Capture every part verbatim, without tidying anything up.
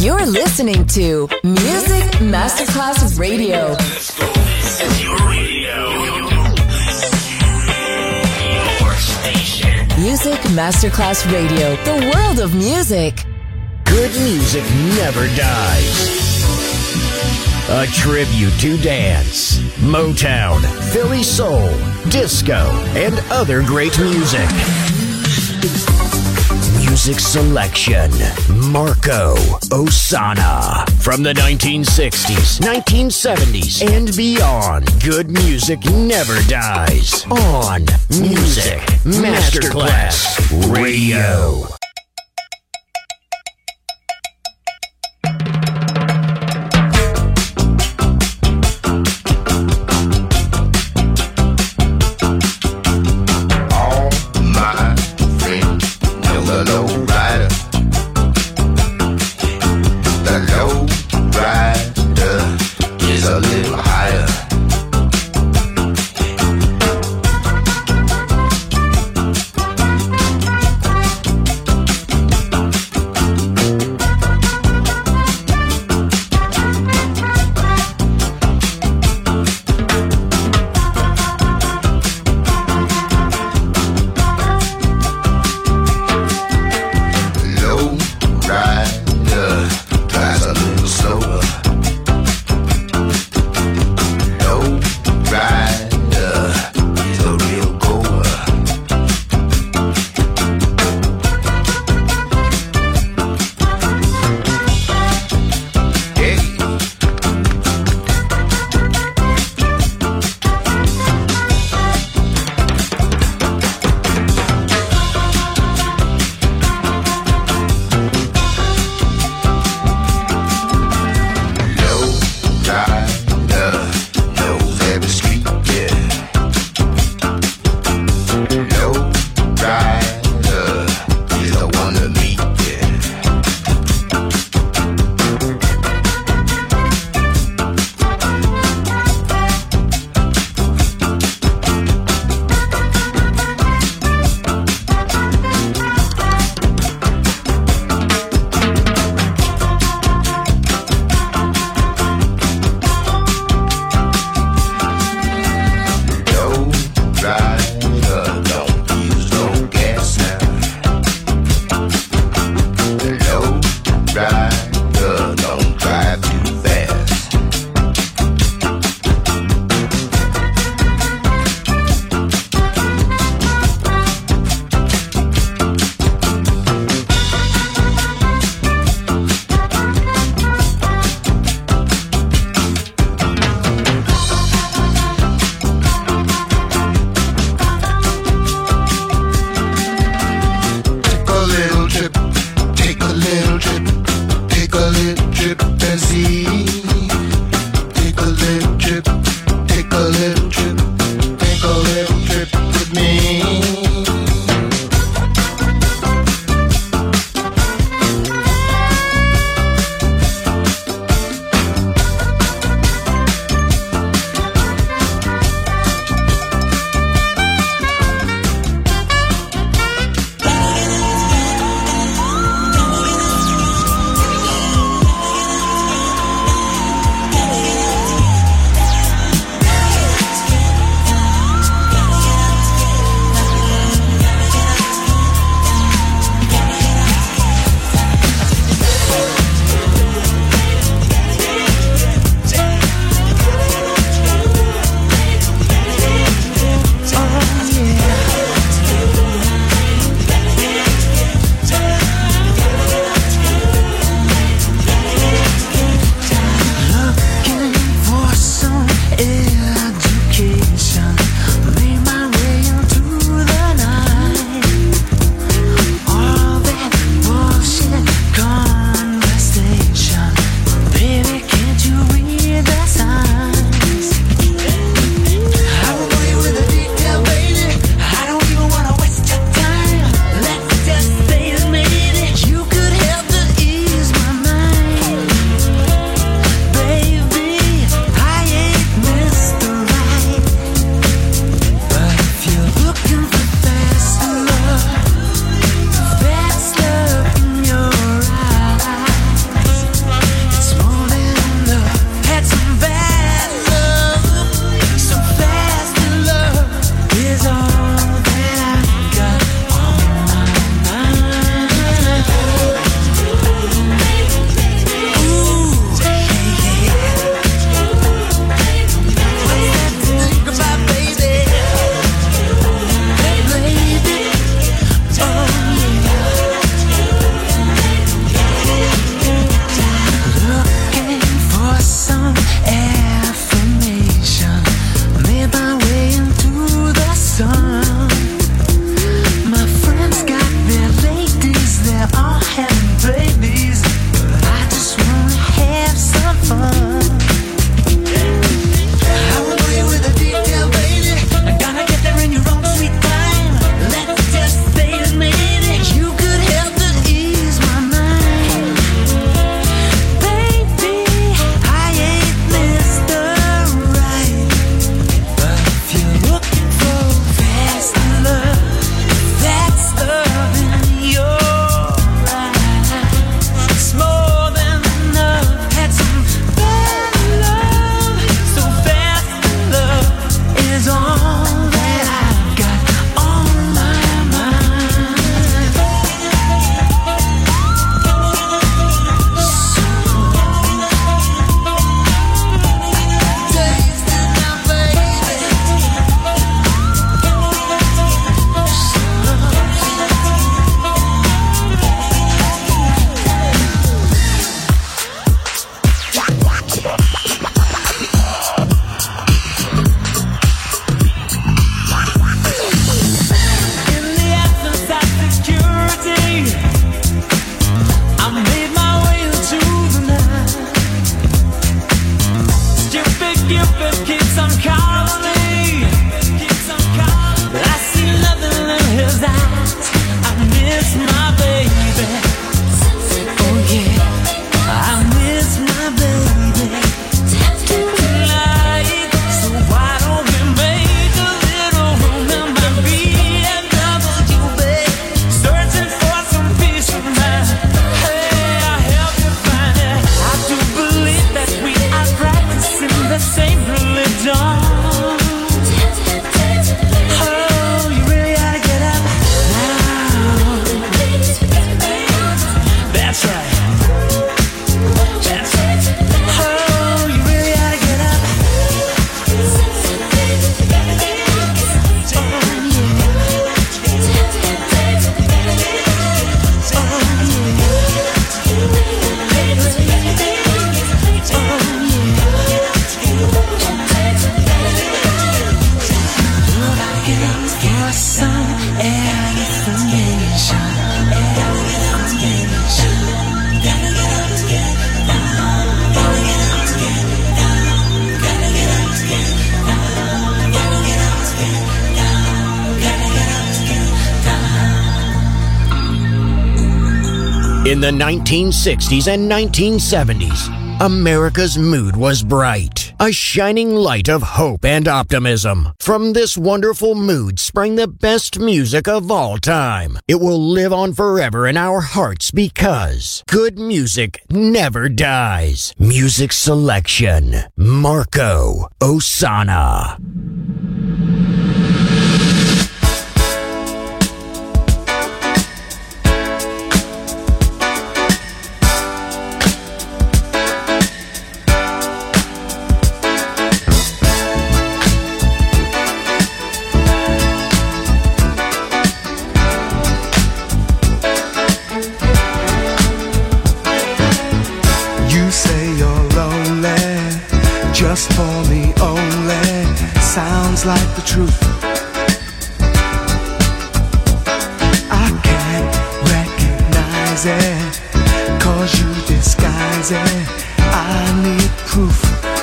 You're listening to Music Masterclass Radio. This is your radio. Your station. Music Masterclass Radio. The world of music. Good music never dies. A tribute to dance, Motown, Philly soul, disco, and other great music. Music selection, Marco Ossanna. From the nineteen sixties, nineteen seventies, and beyond, good music never dies. On Music Masterclass Radio. In the nineteen sixties and nineteen seventies, America's mood was bright, a shining light of hope and optimism. From this wonderful mood sprang the best music of all time. It will live on forever in our hearts because good music never dies. Music selection, Marco Ossanna. Just for me only, sounds like the truth. I can't recognize it, cause you disguise it. I need proof.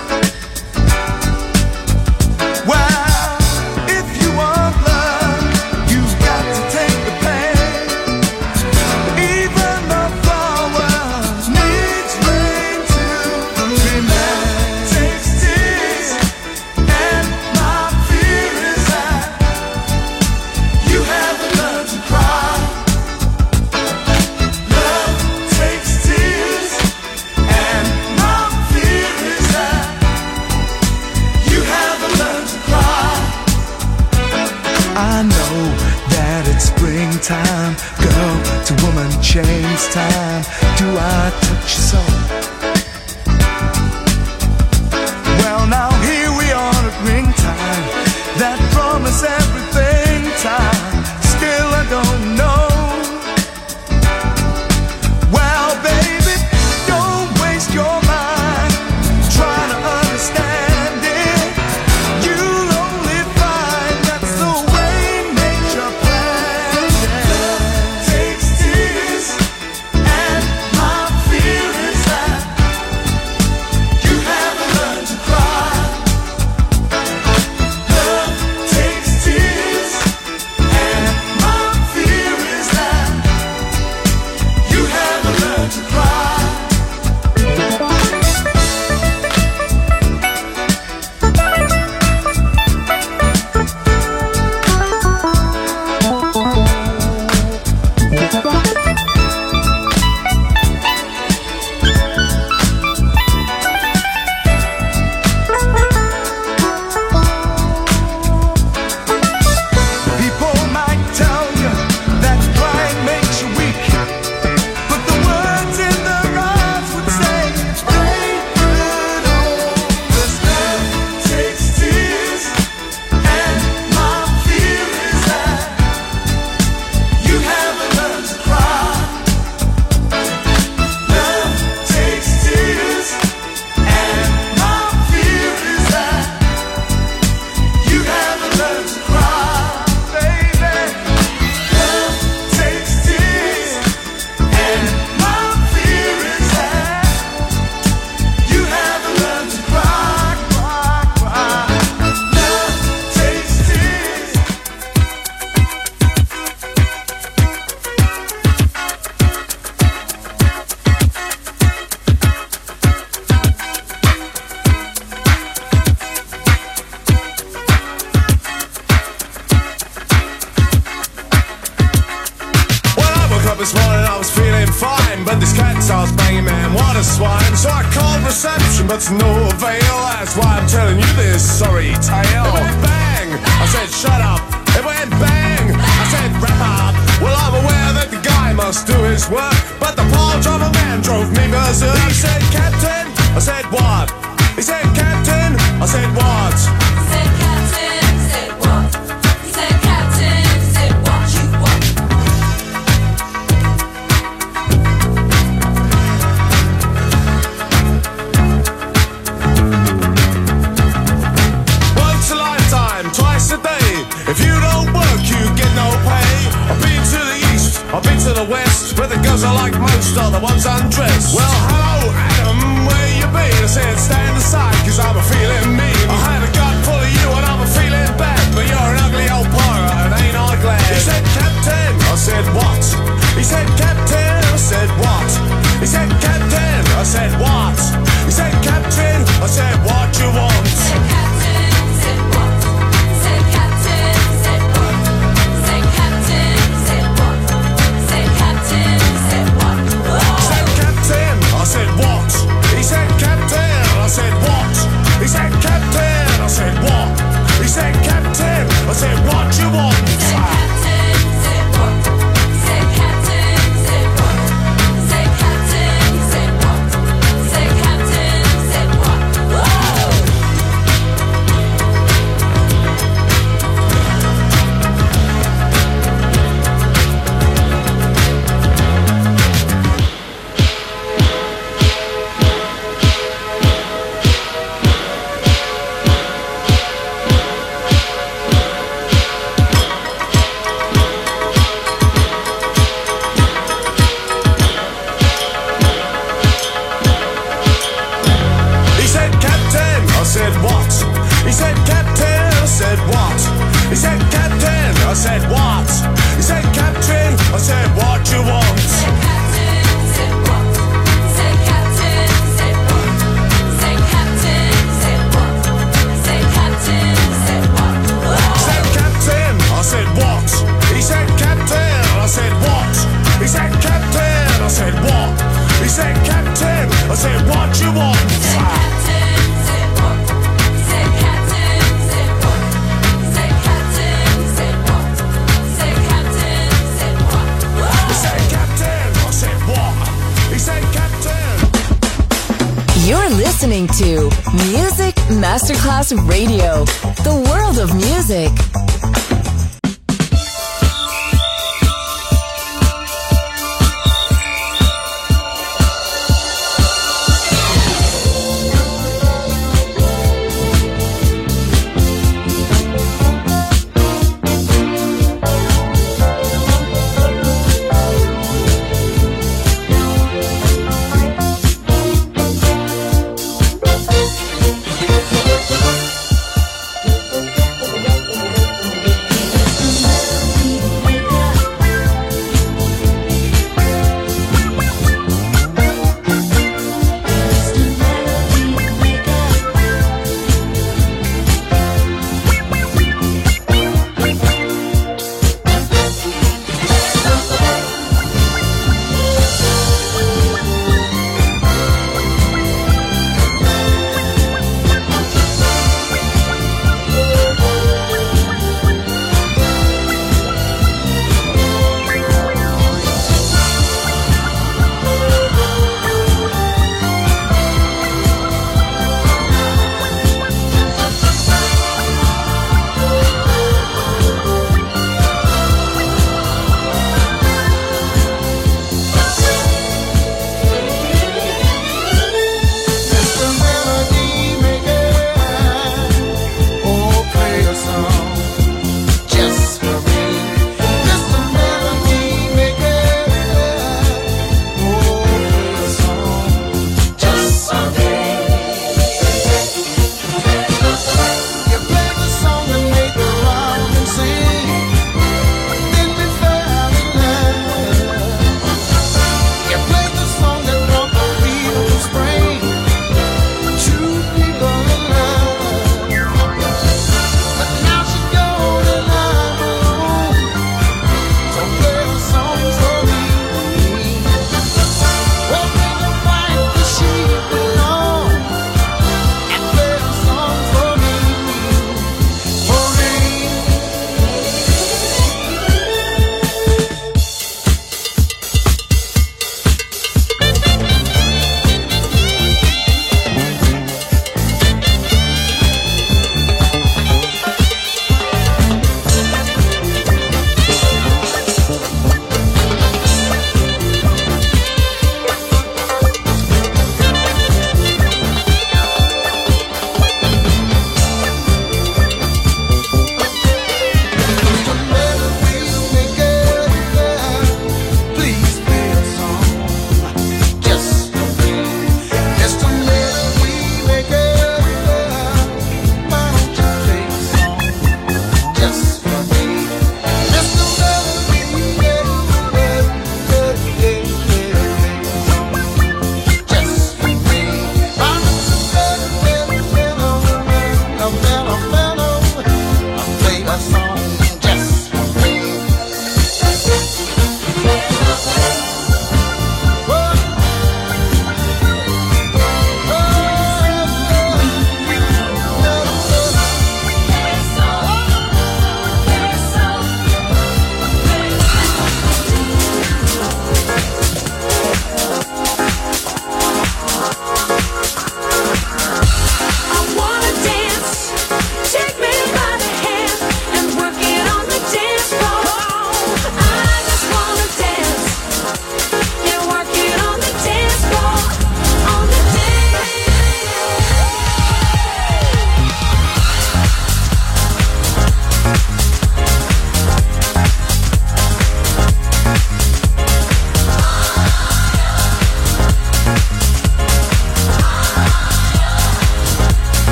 Well, if you want love, you've got to take the pain. Even the flowers needs rain to remain. I know that it's springtime, girl, to woman change time. Do I touch your soul? Well, now here we are at ring time, that promise everything time. Still I don't know. Well, baby, don't waste your mind trying to understand it. You'll only find that's the way nature planned it. Love takes tears, and my fear is that you haven't learned to cry. Love takes tears, and my fear is that you haven't learned to cry. People might tell you that crying makes you weak, but the words in their eyes would say they could understand. Takes tears, and my fear is that you haven't learned to cry. Love takes tears, and my fear is that you haven't learned to cry, baby. Love takes tears, and my fear is that you haven't learned to cry, cry, cry. Love takes tears. When I woke up this morning I was feeling fine, but this cat starts banging, man, what a swine. So I called reception, but to no avail. That's why I'm telling you this sorry tale. It went bang, I said shut up. It went bang, I said wrap up. Well, I'm aware that the guy must do his work, but the paw driver man drove me berserk. He said, Captain, I said what? He said, Captain, I said what? Said Captain, said what? He said Captain, said what you want. Once a lifetime, twice a day. If you don't work, you get no pay. I've been to the east, I've been to the west, where the girls are like most are the ones undressed. Well, hello, Adam, where you been? I said, stand aside, cause I'm a feeling mean. I had a gut full of you and I'm a feeling bad, but you're an ugly old pirate and ain't I glad. He said, Captain, I said, what? He said, Captain, I said, what? what you want. Said Captain, said what? He said Captain, said what? He said Captain, said what? He said Captain, said what? He said Captain, I said what? He said Captain. You're listening to Music Masterclass Radio, the world of music.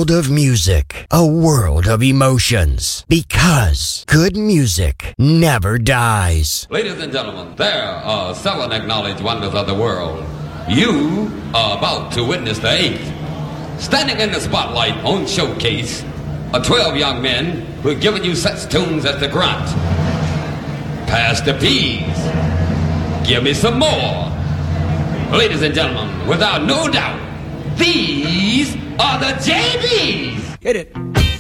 world of music, a world of emotions. Because good music never dies. Ladies and gentlemen, there are seven acknowledged wonders of the world. You are about to witness the eighth. Standing in the spotlight on Showcase are twelve young men who have given you such tunes as the Grunt, Pass the Peas, Give Me Some More. Ladies and gentlemen, without no doubt, these are the J Bs. Hit it.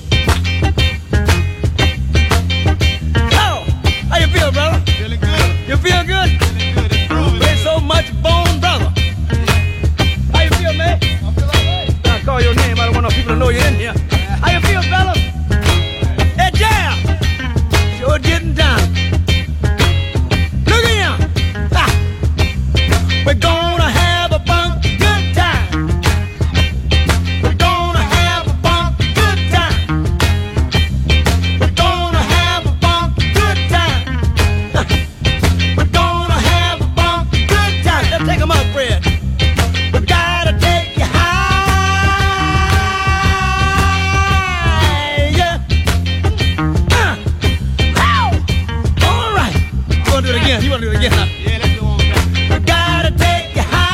Oh, how you feel, brother? Feeling good. You feel good? Feeling good. It's groovy. Play so much bone, brother. How you feel, man? I feel all right. I call your name. I don't want no people to know you're in here. How you feel, fella? Hey, Jam. Sure getting down. Look at him. Ah. We're gonna have a funky good time. We're gonna have a funky good time. We're gonna have a funky good time. We're gonna have a funky good time. Let's take 'em up, Fred. We gotta take you high. Yeah. Uh. Ow. All right. You wanna do it again? You wanna do it again, huh? Yeah, let's go on back. We gotta take you high.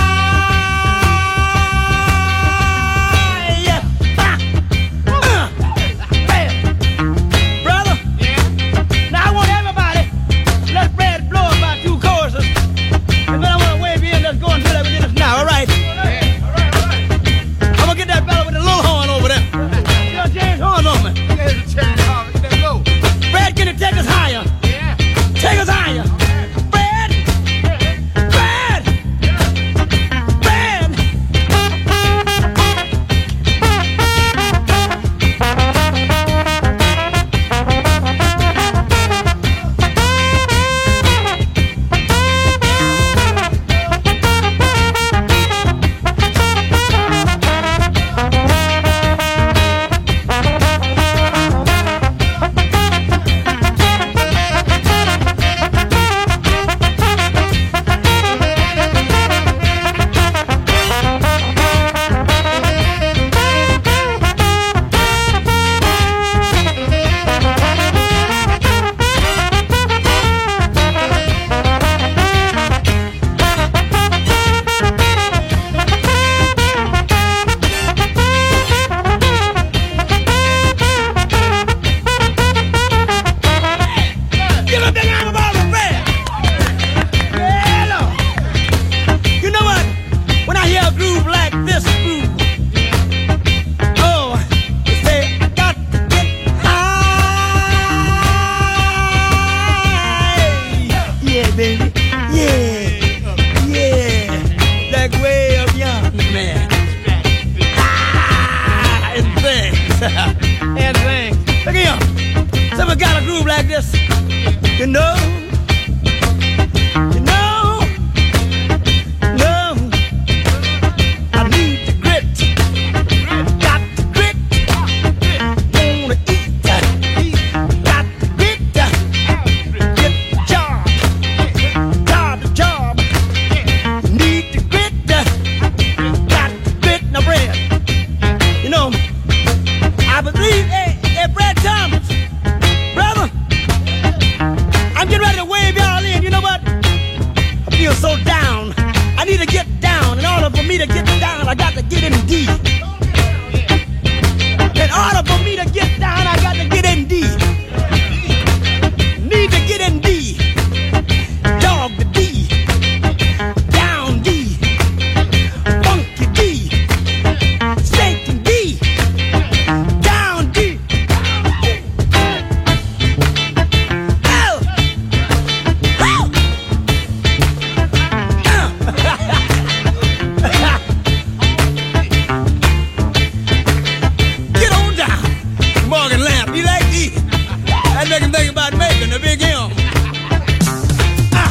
Yeah. Ah. Uh. Bam. Brother. Yeah. Now I want everybody, let Fred blow about two choruses. And then I want to wave you in. Let's go until we get this now, all right? Yeah. All right, all right. I'm going to get that fella with the little horn over there. You know, James Horn on me. Here's the chain. Oh, let's go. Fred, can you take us higher? Yeah. Take us higher. Fred! Fred! Fred! Give a big arm about the Fred! Yeah, Lord. You know what? When I hear a groove like this groove, oh, you say, I got to get high. Yeah, baby. Yeah. Yeah. That way of young man. Ah, and things. And things. Look at him. Someone got a groove like this. You know, you know, no, I need the grit, got the grit, wanna eat, got the grit, get the job, job the job, need the grit, got the grit, now Fred, you know, I believe, hey, hey, Fred Thomas, brother, I'm getting ready to wave y'all in. You know what? I feel so down. I need to get down. In order for me to get down, I got to get in D. In order for me to get down, I got to get in D. Need to get in D. Dog the D. Down D. Funky D. Shaking D. Down D. Oh! Oh! Get on down, Morgan Lamb. You like these? That make him think about making a big M. Ah.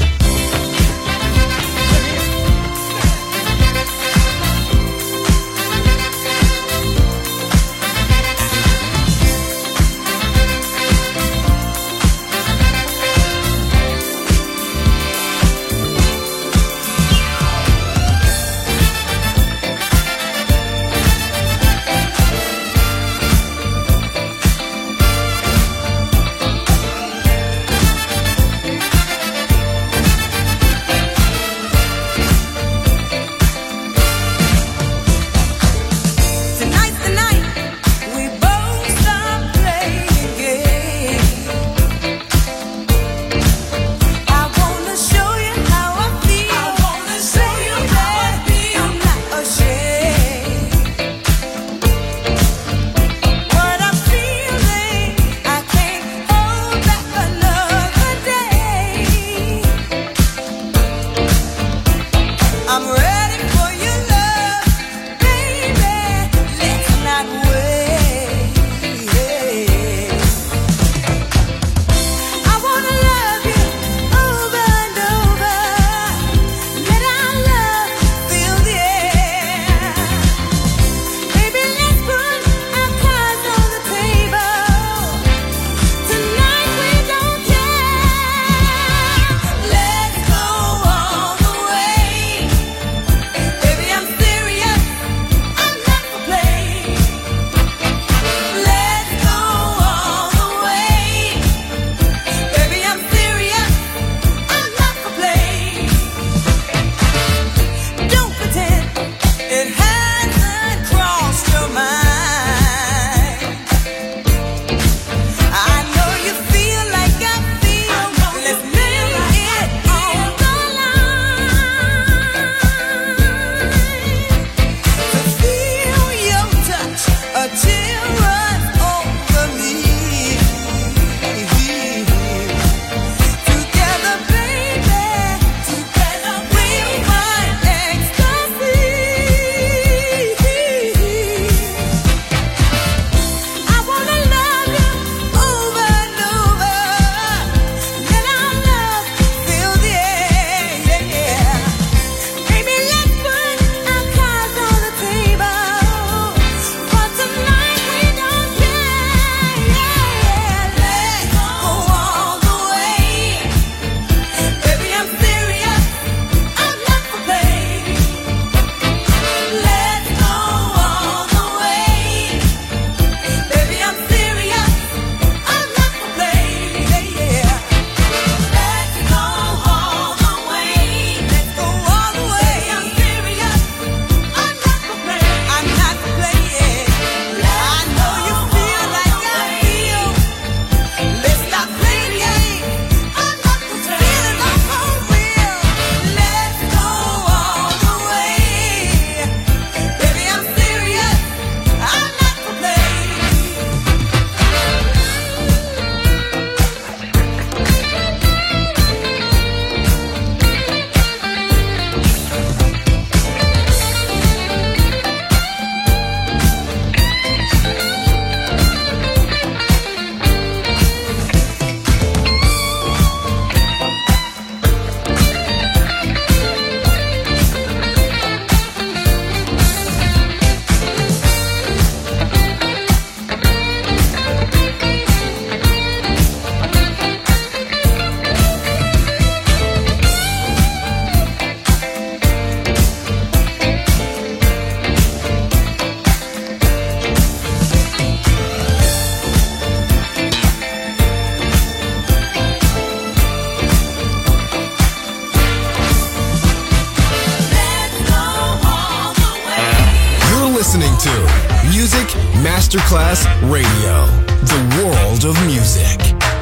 Masterclass Radio, the world of music.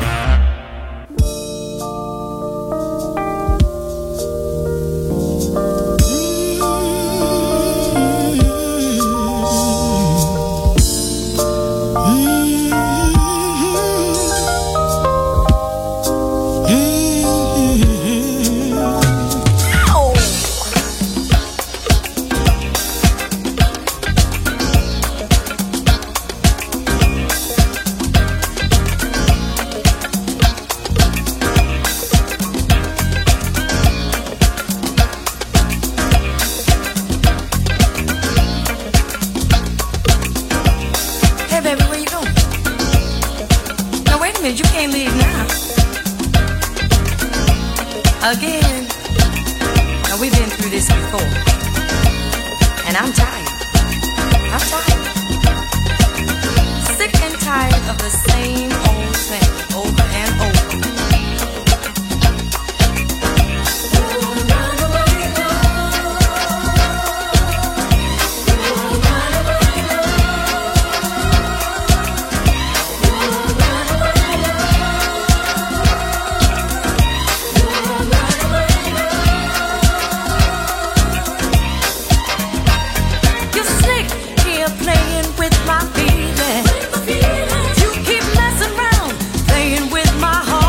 Again, now we've been through this before, and I'm tired. I'm tired. Sick and tired of the same old thing over and over. Playing with my feelings. You keep messing around, playing with my heart.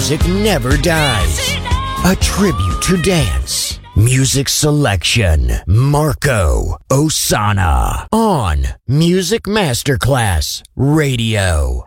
music never dies. A tribute to dance. Music selection. Marco Ossanna on Music Masterclass Radio.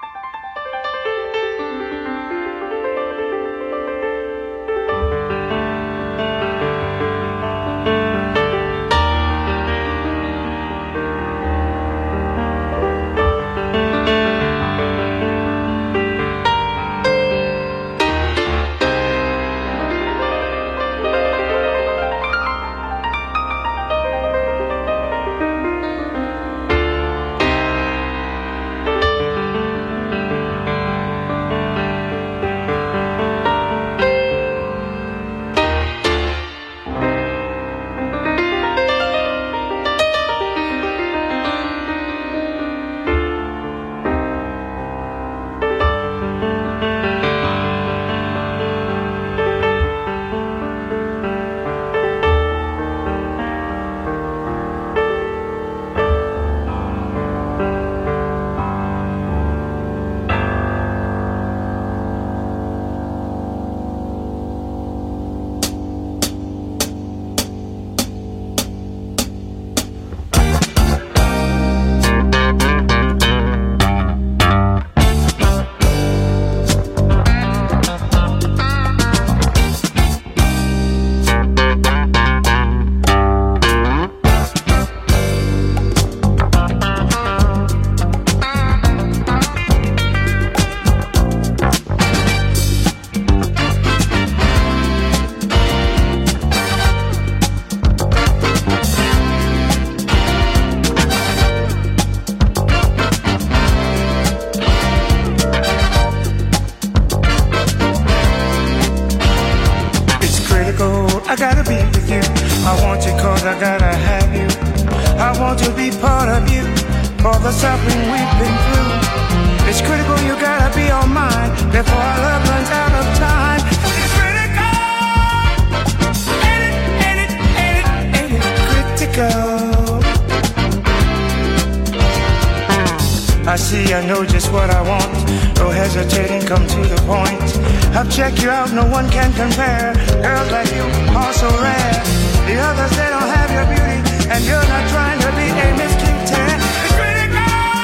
Check you out, no one can compare. Girls like you are so rare. The others, they don't have your beauty, and you're not trying to be a Miss Cute. It's critical.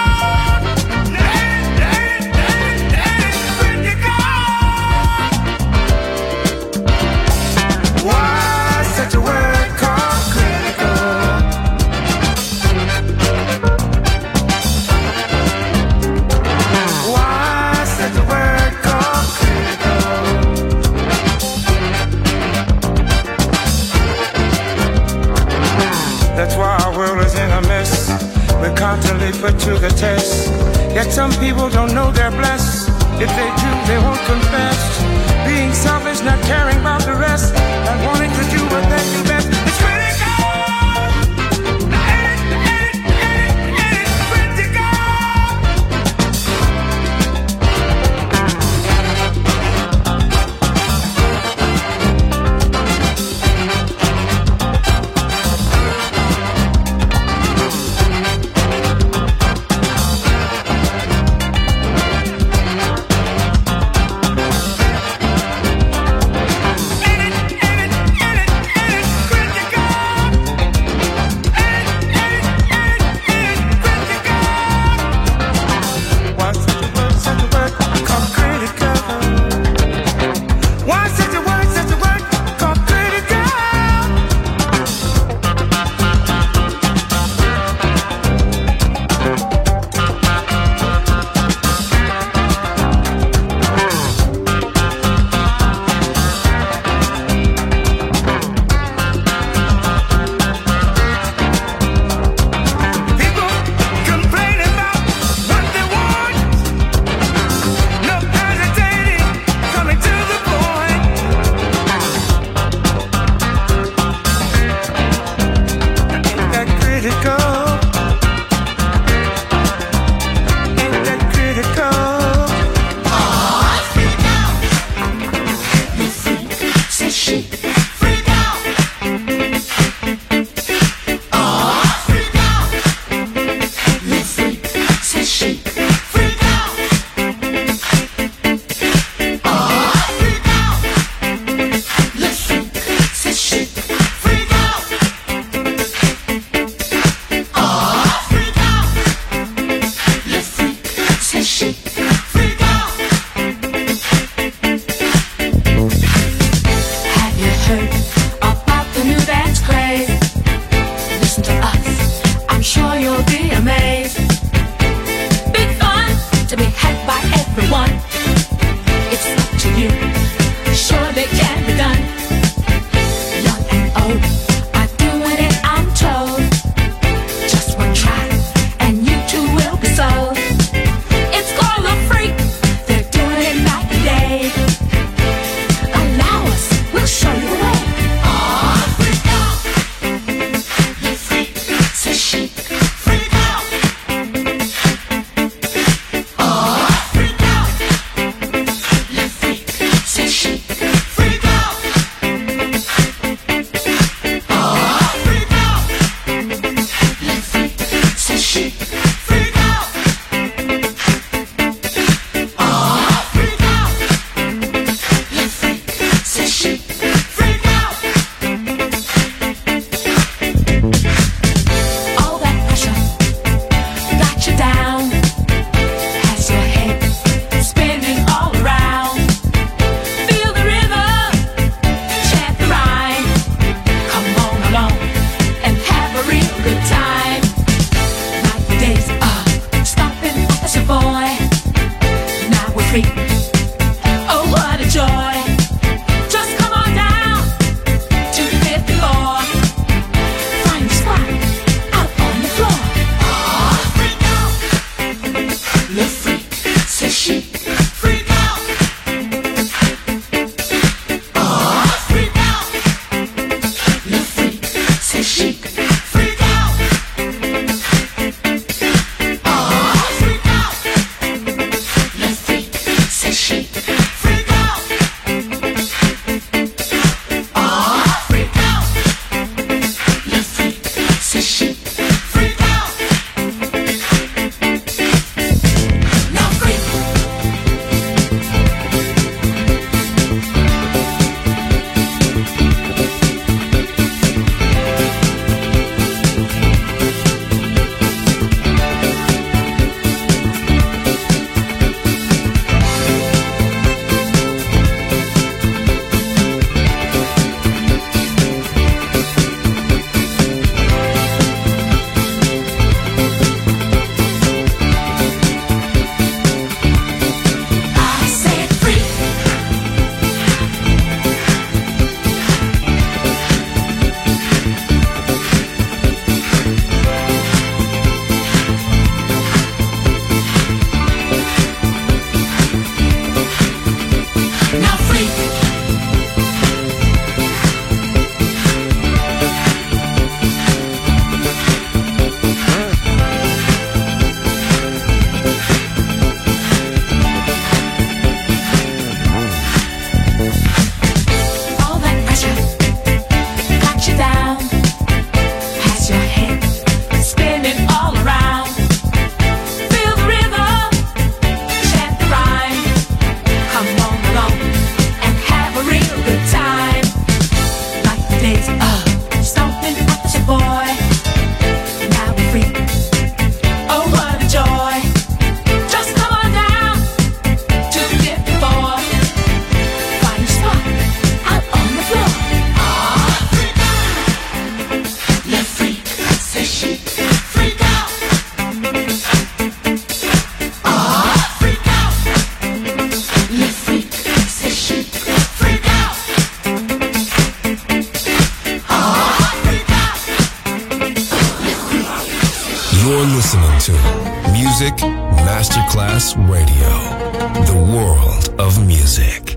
Critical. Why such a word called critical? Why such a word called critical? That's why our world is in a mess. We're constantly put to the test. Yet some people don't know they're blessed. If they do, they won't confess. Being selfish, not caring about the rest, not wanting to do what they do best. It's critical. Ain't it, ain't it, ain't it Music Masterclass Radio. The world of music.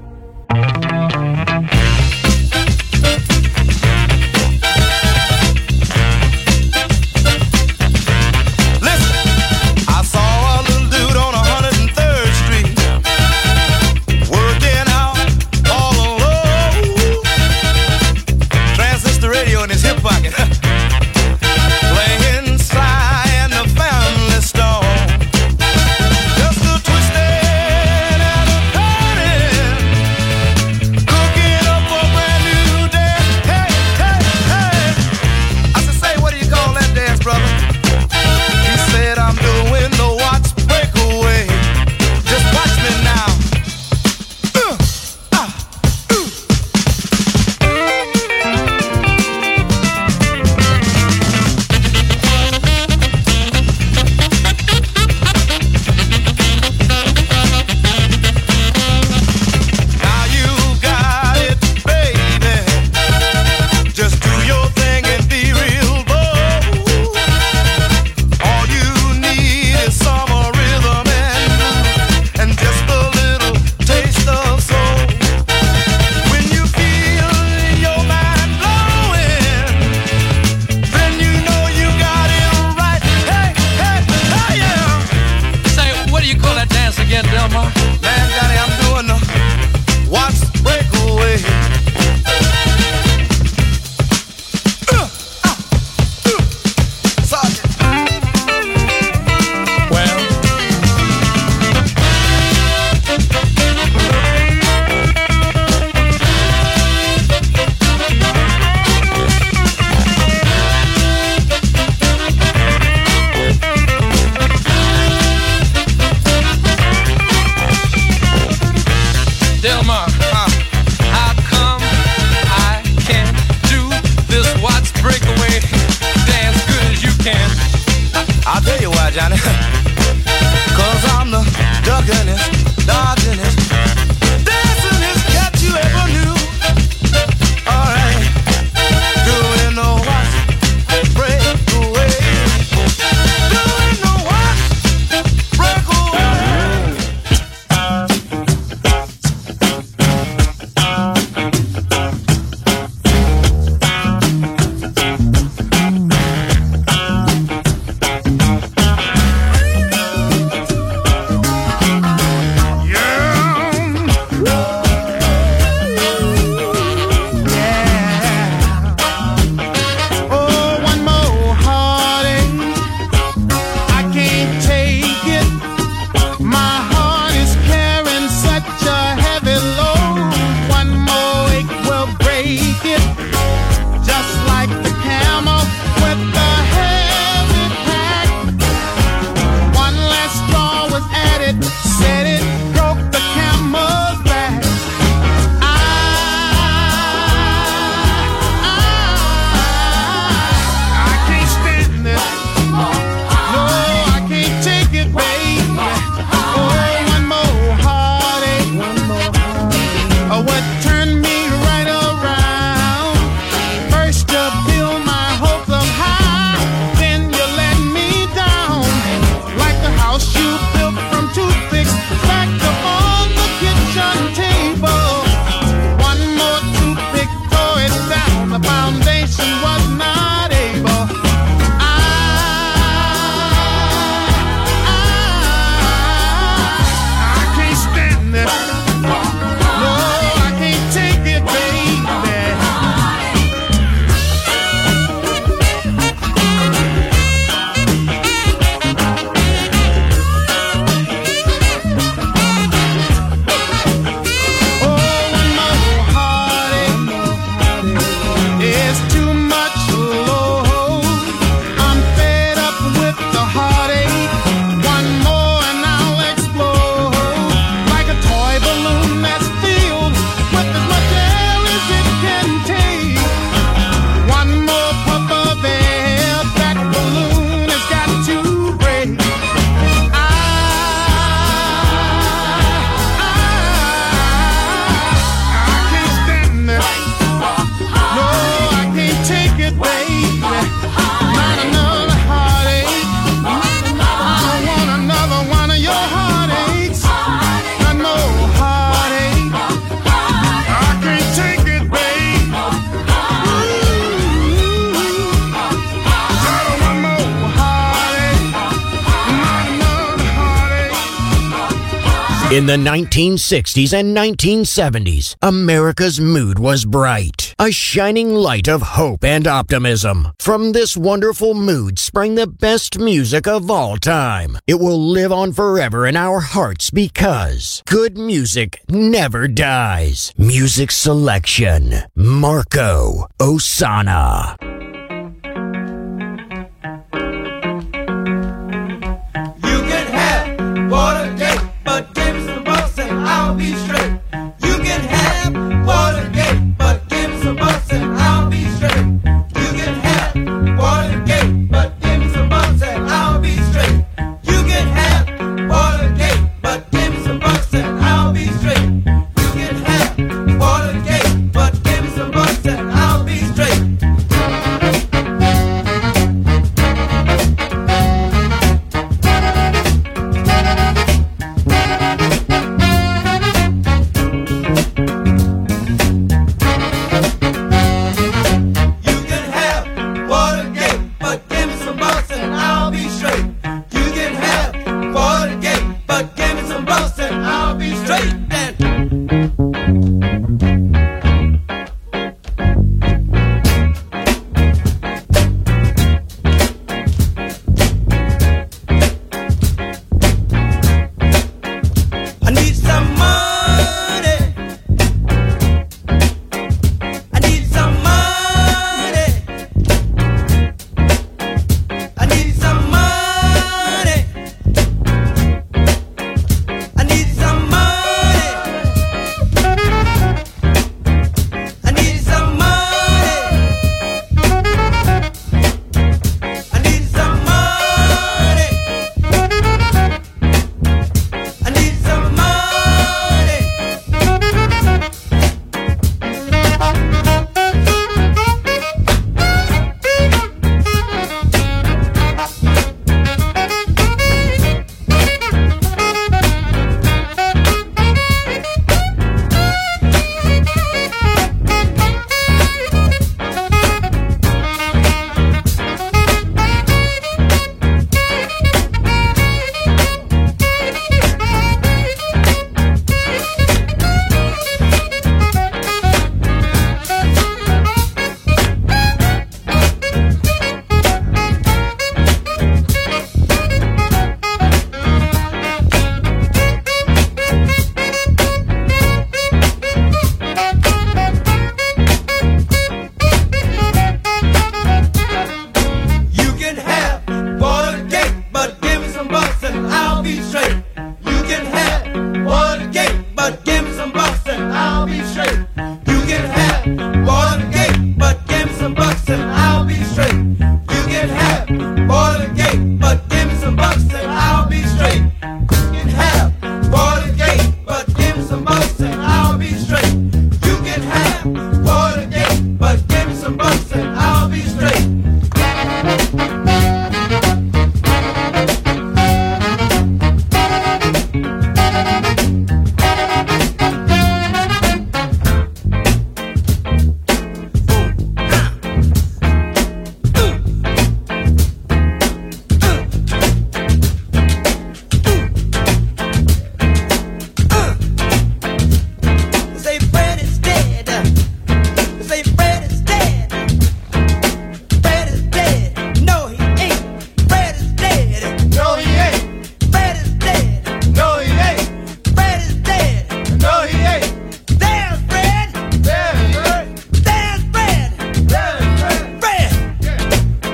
In the nineteen sixties and nineteen seventies, America's mood was bright, a shining light of hope and optimism. From this wonderful mood sprang the best music of all time. It will live on forever in our hearts because good music never dies. Music selection, Marco Ossanna. You can have Watergate, but give me some bucks and I'll be straight. You can have Watergate, but give me some bucks and I'll be straight. You can have Watergate, but give me some bucks and I'll be straight. You can have Watergate, but give me some bucks and I'll be straight. You can have Watergate, but give me some bucks and I'll be straight. You can have Watergate, but give me some bucks and I'll be straight. You can have Watergate, but give me some bucks and I'll be straight. Then I need some money. I need some money. I need some money. I need some money. I need some money. I need some money. I need some money. You can have Watergate, but give me some bucks and I'll be straight. You can have Watergate, but give me some bucks and I'll be straight. You can have Watergate, but give me some bucks and I'll be straight. You can have Watergate, but give me some bucks and I'll be straight. You can have Watergate, but give me some bucks and I'll be straight. You can have Watergate, but give me some bucks and I'll be straight. Say Fred is dead. Say Fred is dead. Fred is dead. No, he ain't. Fred is dead. No, he ain't. Fred is dead. No, he ain't. Fred is dead. No, he ain't. There's Fred. There's Fred. There's Fred. There's Fred. Fred.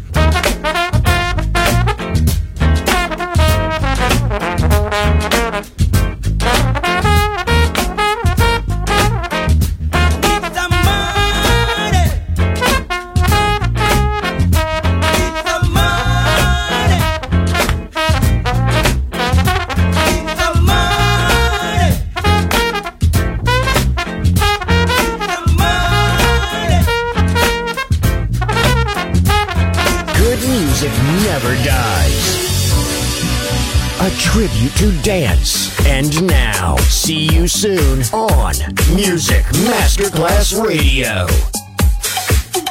Need some money. Need some money. Need some money. Need some money. Good music never dies. A tribute to dance. And now, see you soon on Music Masterclass Radio.